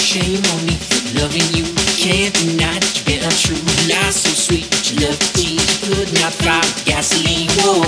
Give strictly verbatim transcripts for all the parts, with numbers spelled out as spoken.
shame on me for loving you. Can't deny that you've been untrue. Lies so sweet, but you love to tease. You could not find gasoline, whoa.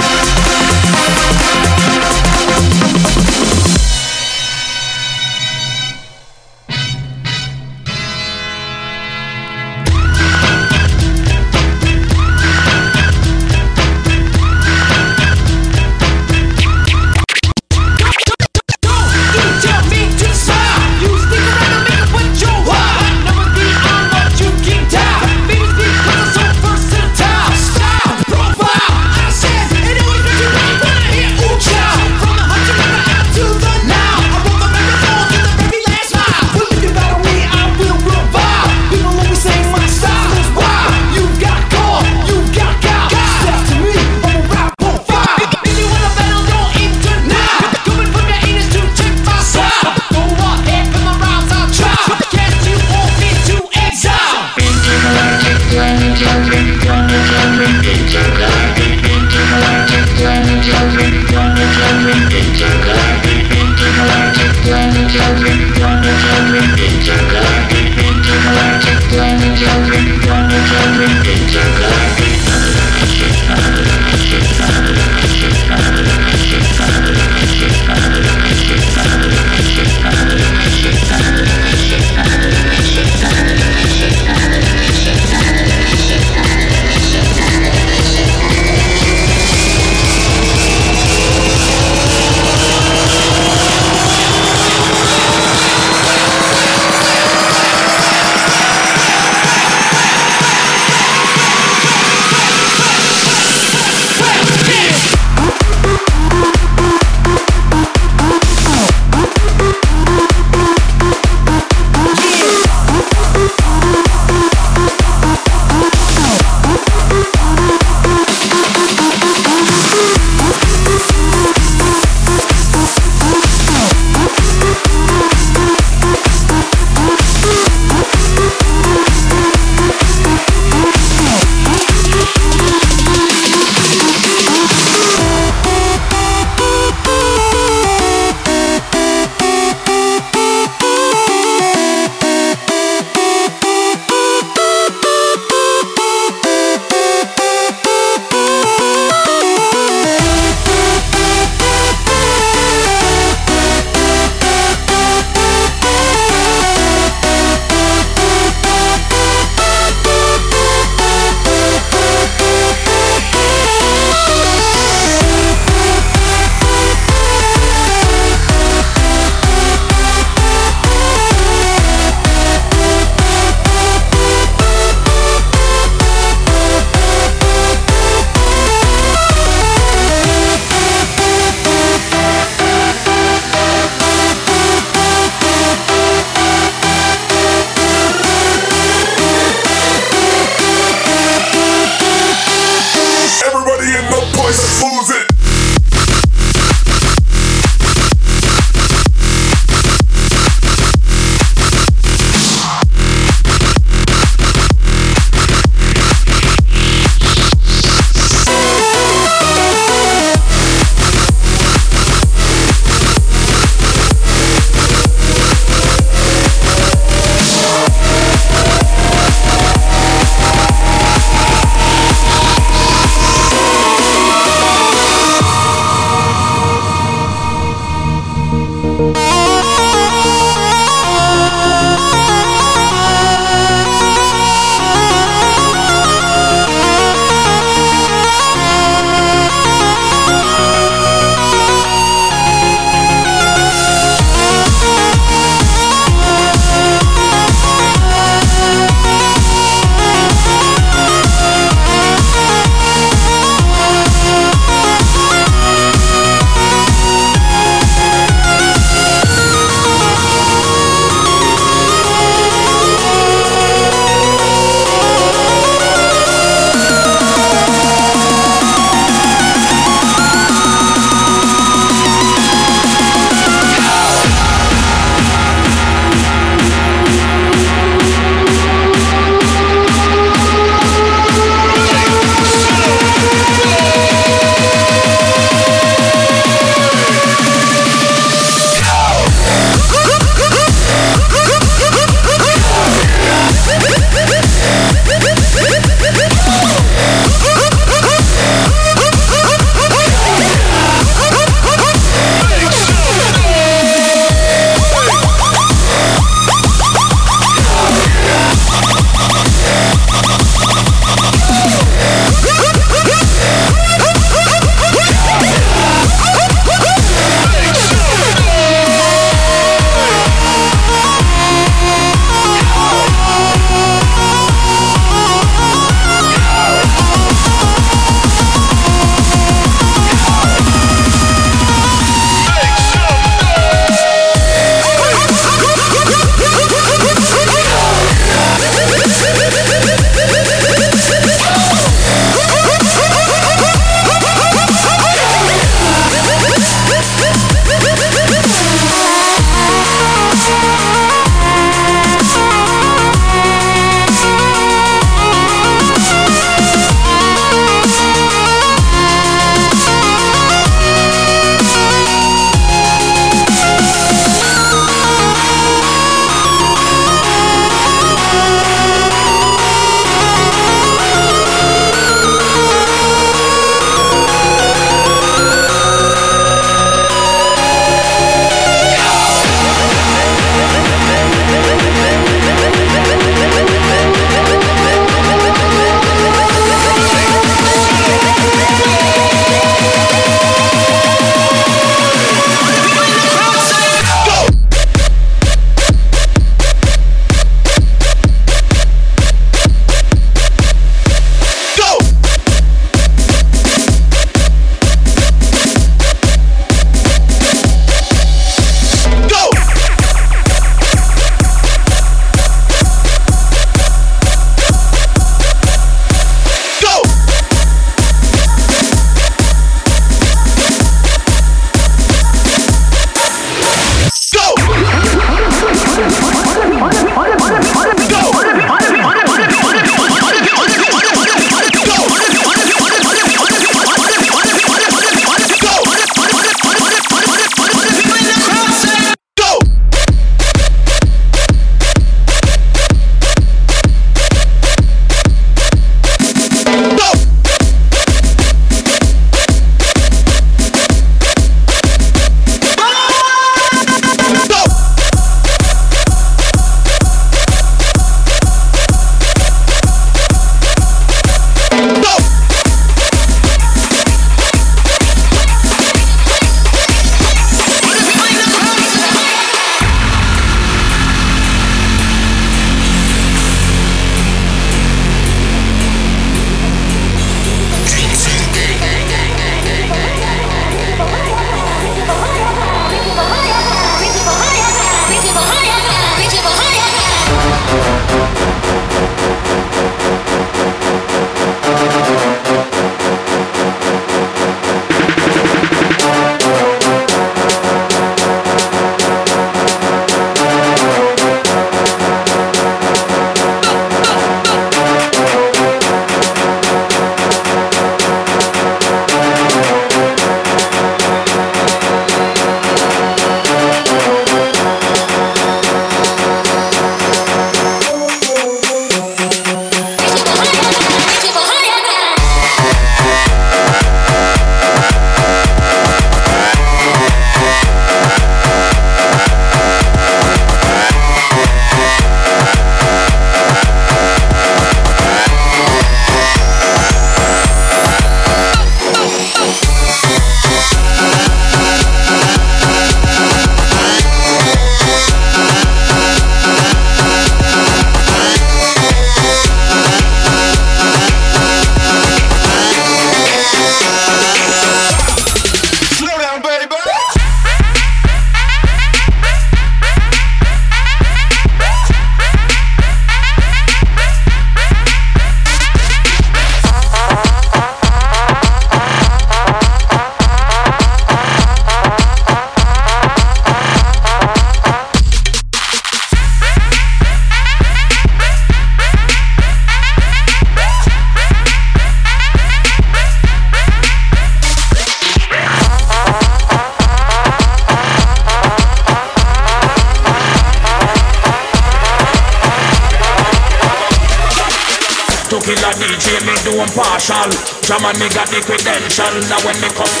I'm partial. German me got the credential. Now when me come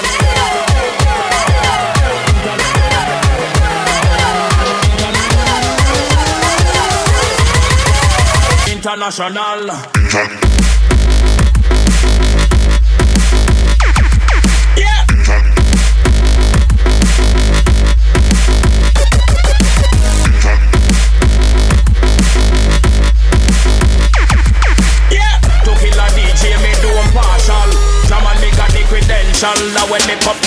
international. Yeah. Yeah. To kill a D J, me do I'm partial. German me got the credential. Now when me come.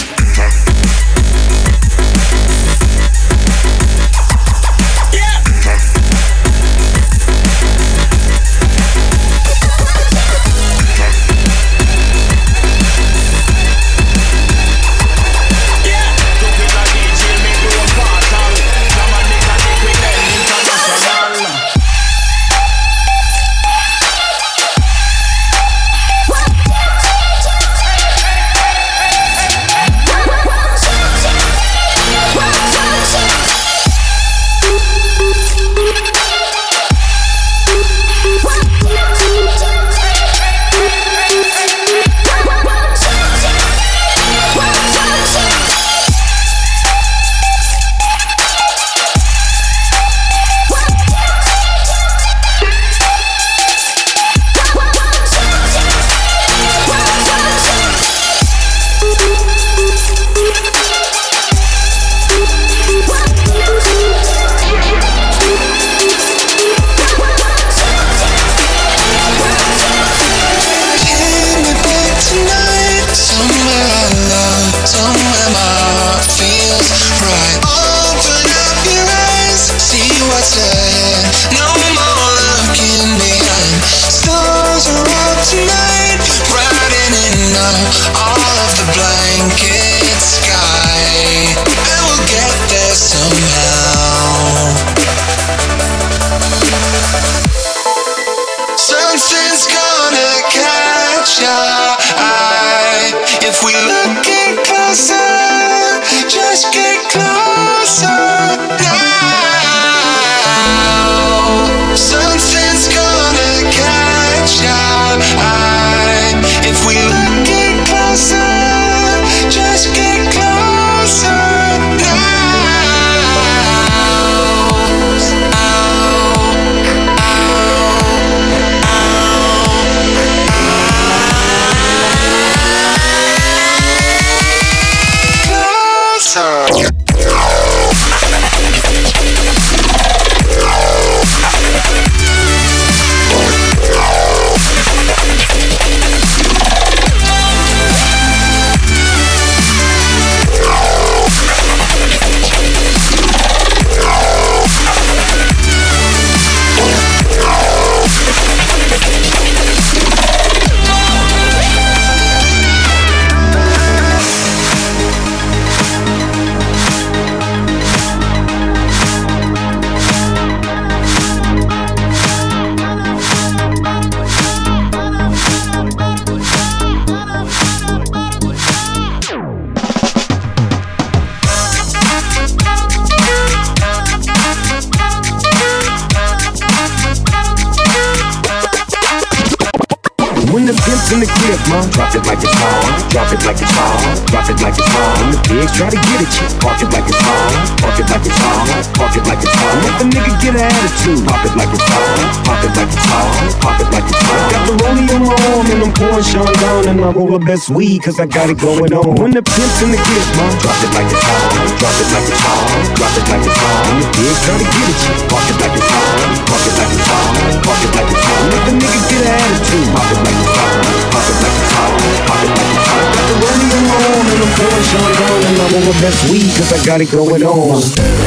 In the clip, man. Drop it like it's hot. Drop it like it's hot. Drop it like it's hot. When the pigs try to get at you, park it like it's hot. Park it like it's hot. Park it like it's hot. Let the nigga get an attitude. Pop it like it's hot. Pop it like it's hot. Pop it like it's hot. Got the rollie on my arm and I'm pouring Sean down and I roll the best weed cause I got it going on. When the pimp's in the clip, man. Drop it like it's hot. Drop it like it's hot. Drop it like it's hot. When the pigs try to get at you, park it like it's hot. Park it like it's hot. Park it like it's hot. Let the nigga get an attitude. Pop it like it's hot. Pop it like it's hot, pop it like it's hot. Got the rollie on my arm and I'm pouring Sean down and I'm on my best weed cause I got it going on.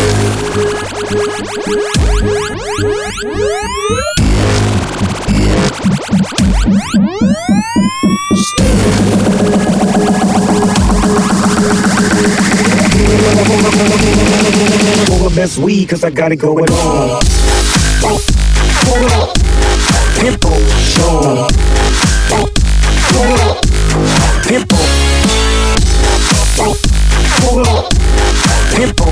On my best weed cause I got it going on. Hold up, pimple, show. Hold up, pimple. Hold up, pimple.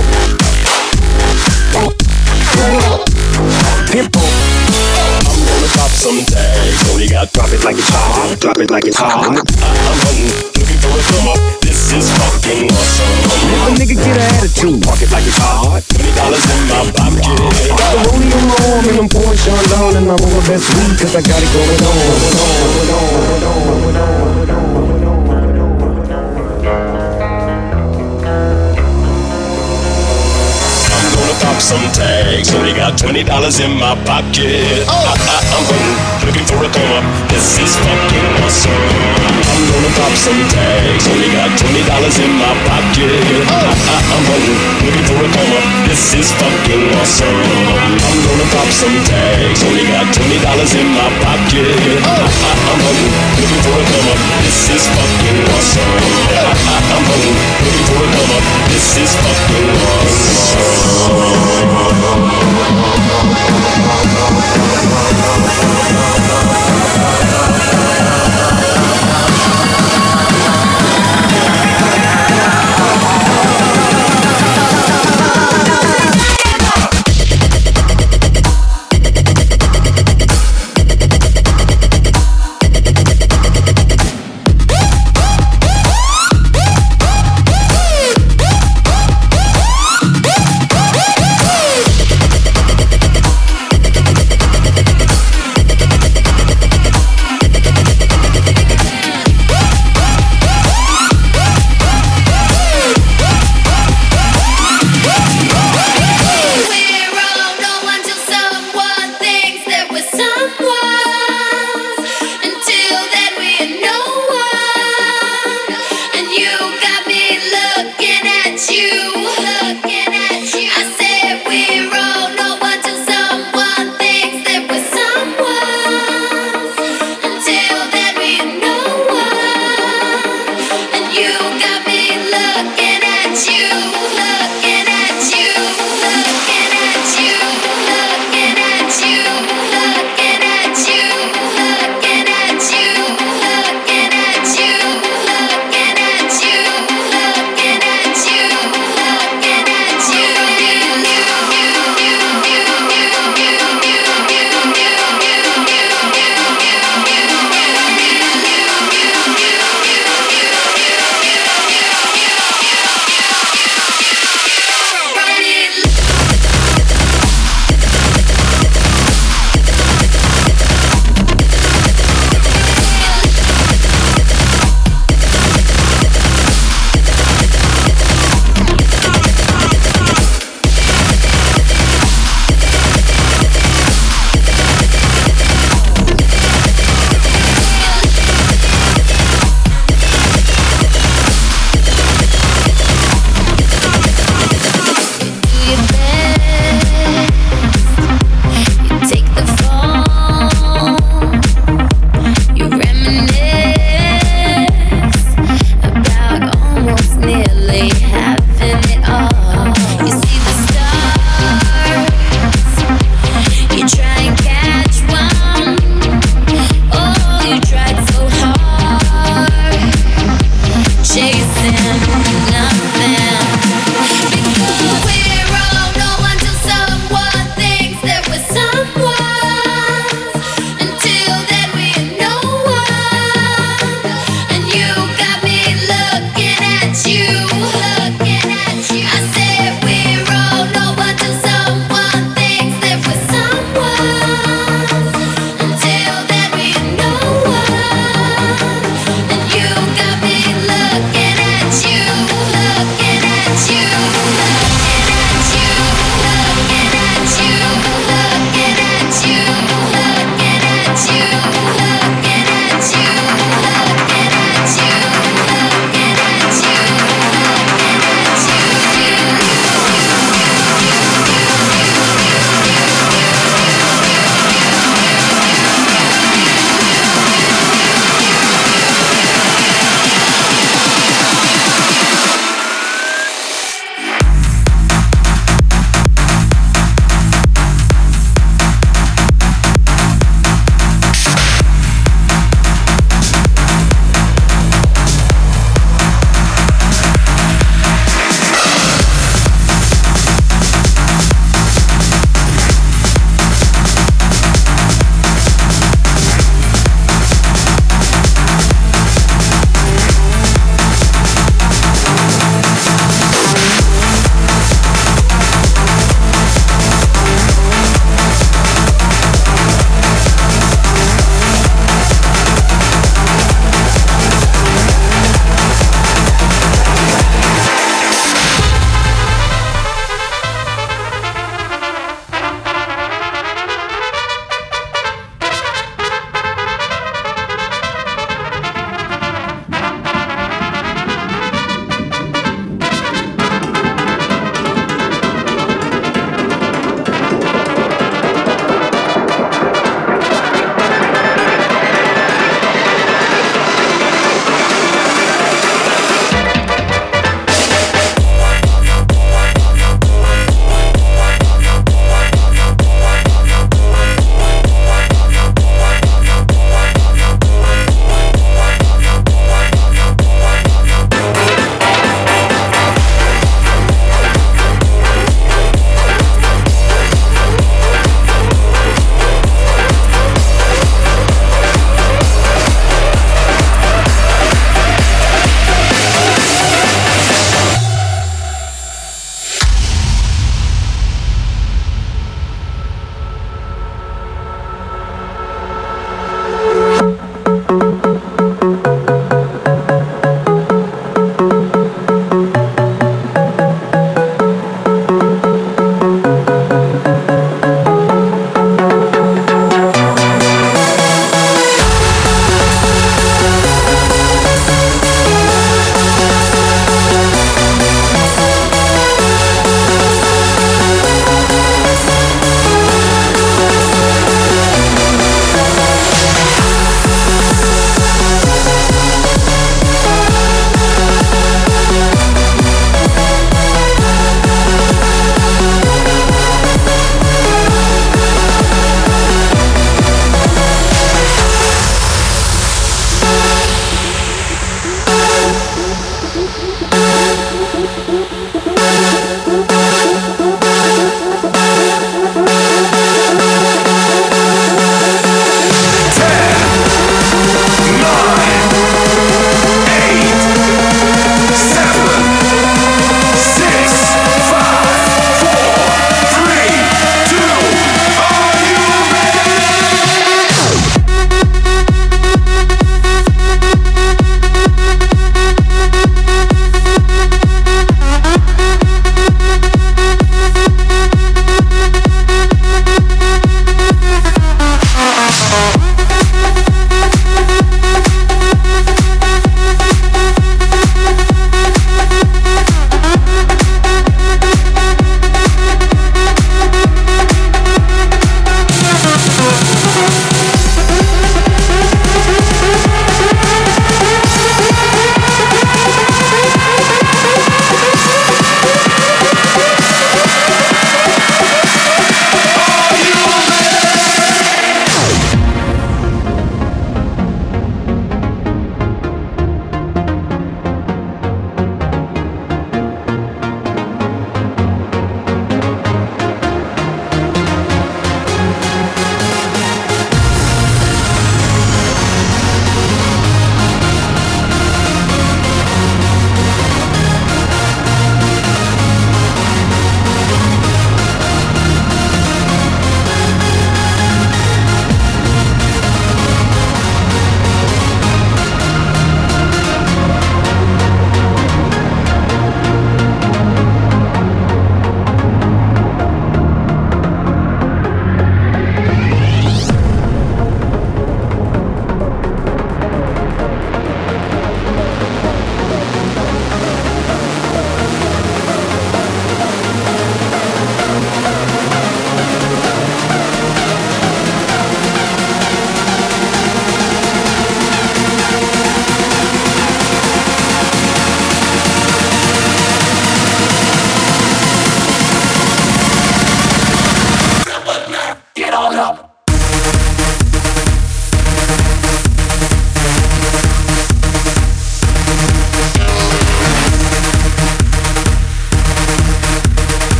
Hold up, pimple. I'm gonna pop some tags. Only got drop it like it's hot. hard. I'm hunting, looking for a come up. This is fucking awesome. If a nigga get an attitude, park it like it's hard. Twenty dollars in my pocket. Got the rollie on my arm and I'm pouring Sean down and I'm on my best weed 'cause I got it going on. Pop some tags, only got twenty dollars in my pocket. Oh. I, I, I'm hunting, looking for a come up. This is fucking awesome. I'm gonna pop some tags, only got twenty dollars in my pocket. Oh. I, I, I'm hunting, looking for a come up. This is fucking awesome. I'm gonna pop some tags, only got twenty dollars in my pocket. Oh. I, I, I'm hunting, looking for a come up. This is fucking awesome. I, I, I'm hunting, looking for a come up. This is fucking awesome.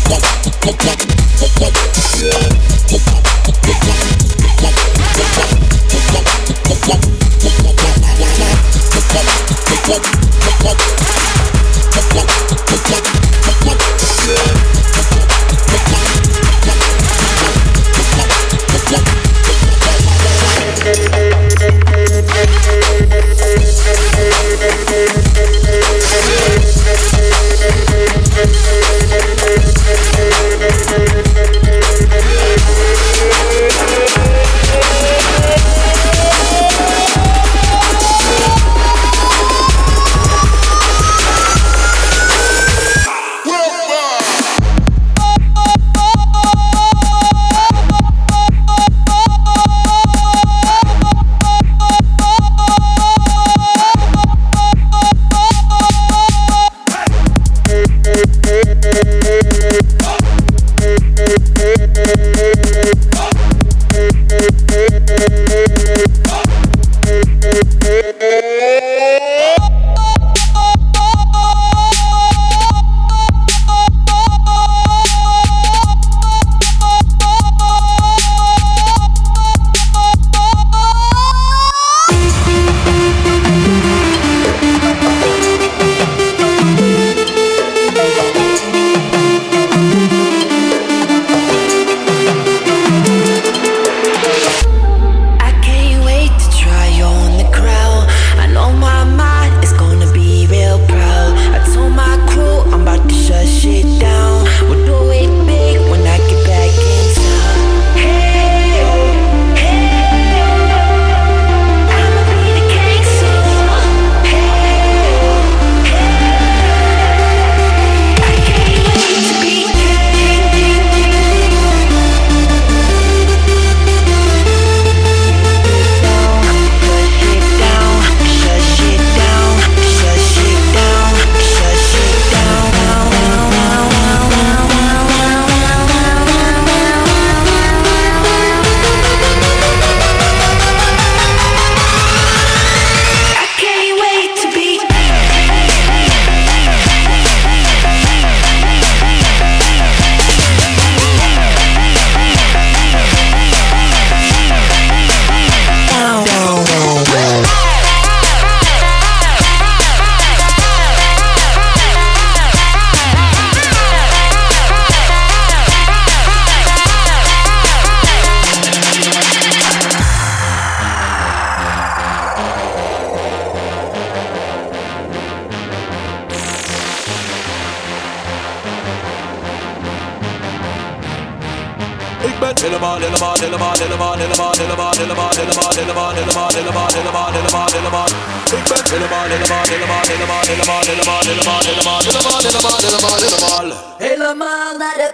helemaal, helemaal, helemaal, helemaal, helemaal, helemaal, helemaal, helemaal, helemaal, helemaal, helemaal, helemaal, helemaal, helemaal. Ik ben helemaal, helemaal, helemaal, helemaal, helemaal, helemaal, helemaal, helemaal, helemaal, helemaal, helemaal, helemaal. Helemaal naar de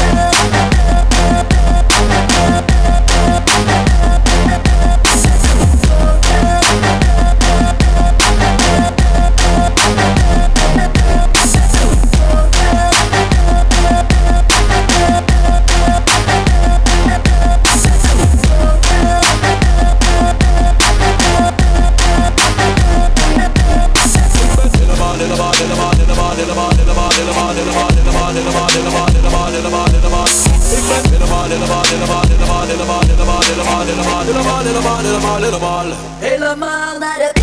helemaal naar de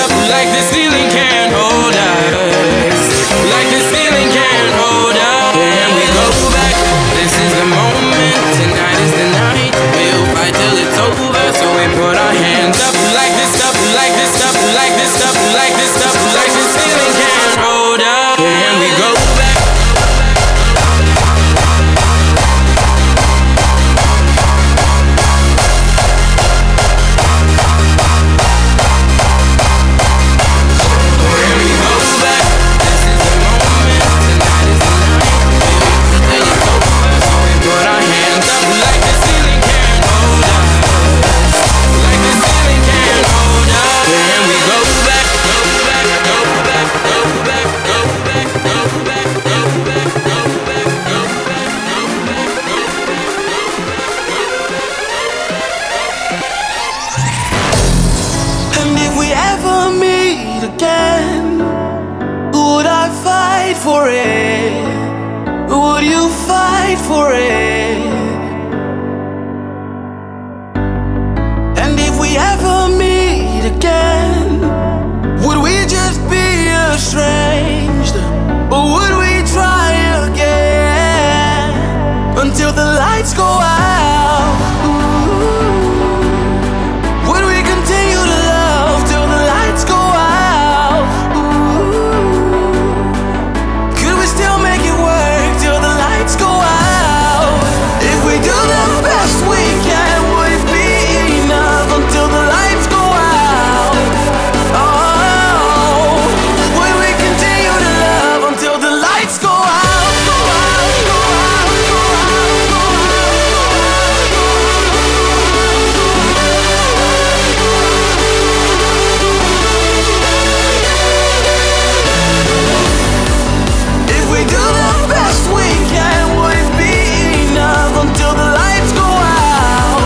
up, like the ceiling can't hold us. Like the ceiling can't hold us. And we go back, this is the moment. Tonight is the night. We'll fight till it's over. So we put our hands up, like this up, like this up, like this up, like this up, like the ceiling can't hold us. And we go back. For it, would you fight for it? And if we ever meet again, would we just be estranged, or would we try again until the lights go out? Ooh. Would we continue to love till the lights go out? Still make it work till the lights go out. If we do the best we can, would it be enough until the lights go out? Oh, would we continue to love until the lights go out? Go out, go out, go out, go If we do the best we can, would it be enough until the lights go out?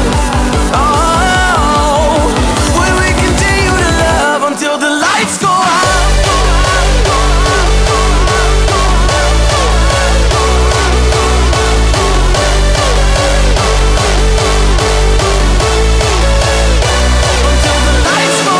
Oh, would we continue to love until the lights go out? Until the lights go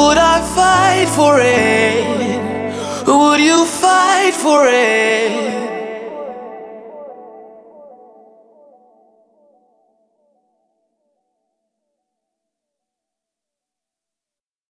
for it? Would you fight for it?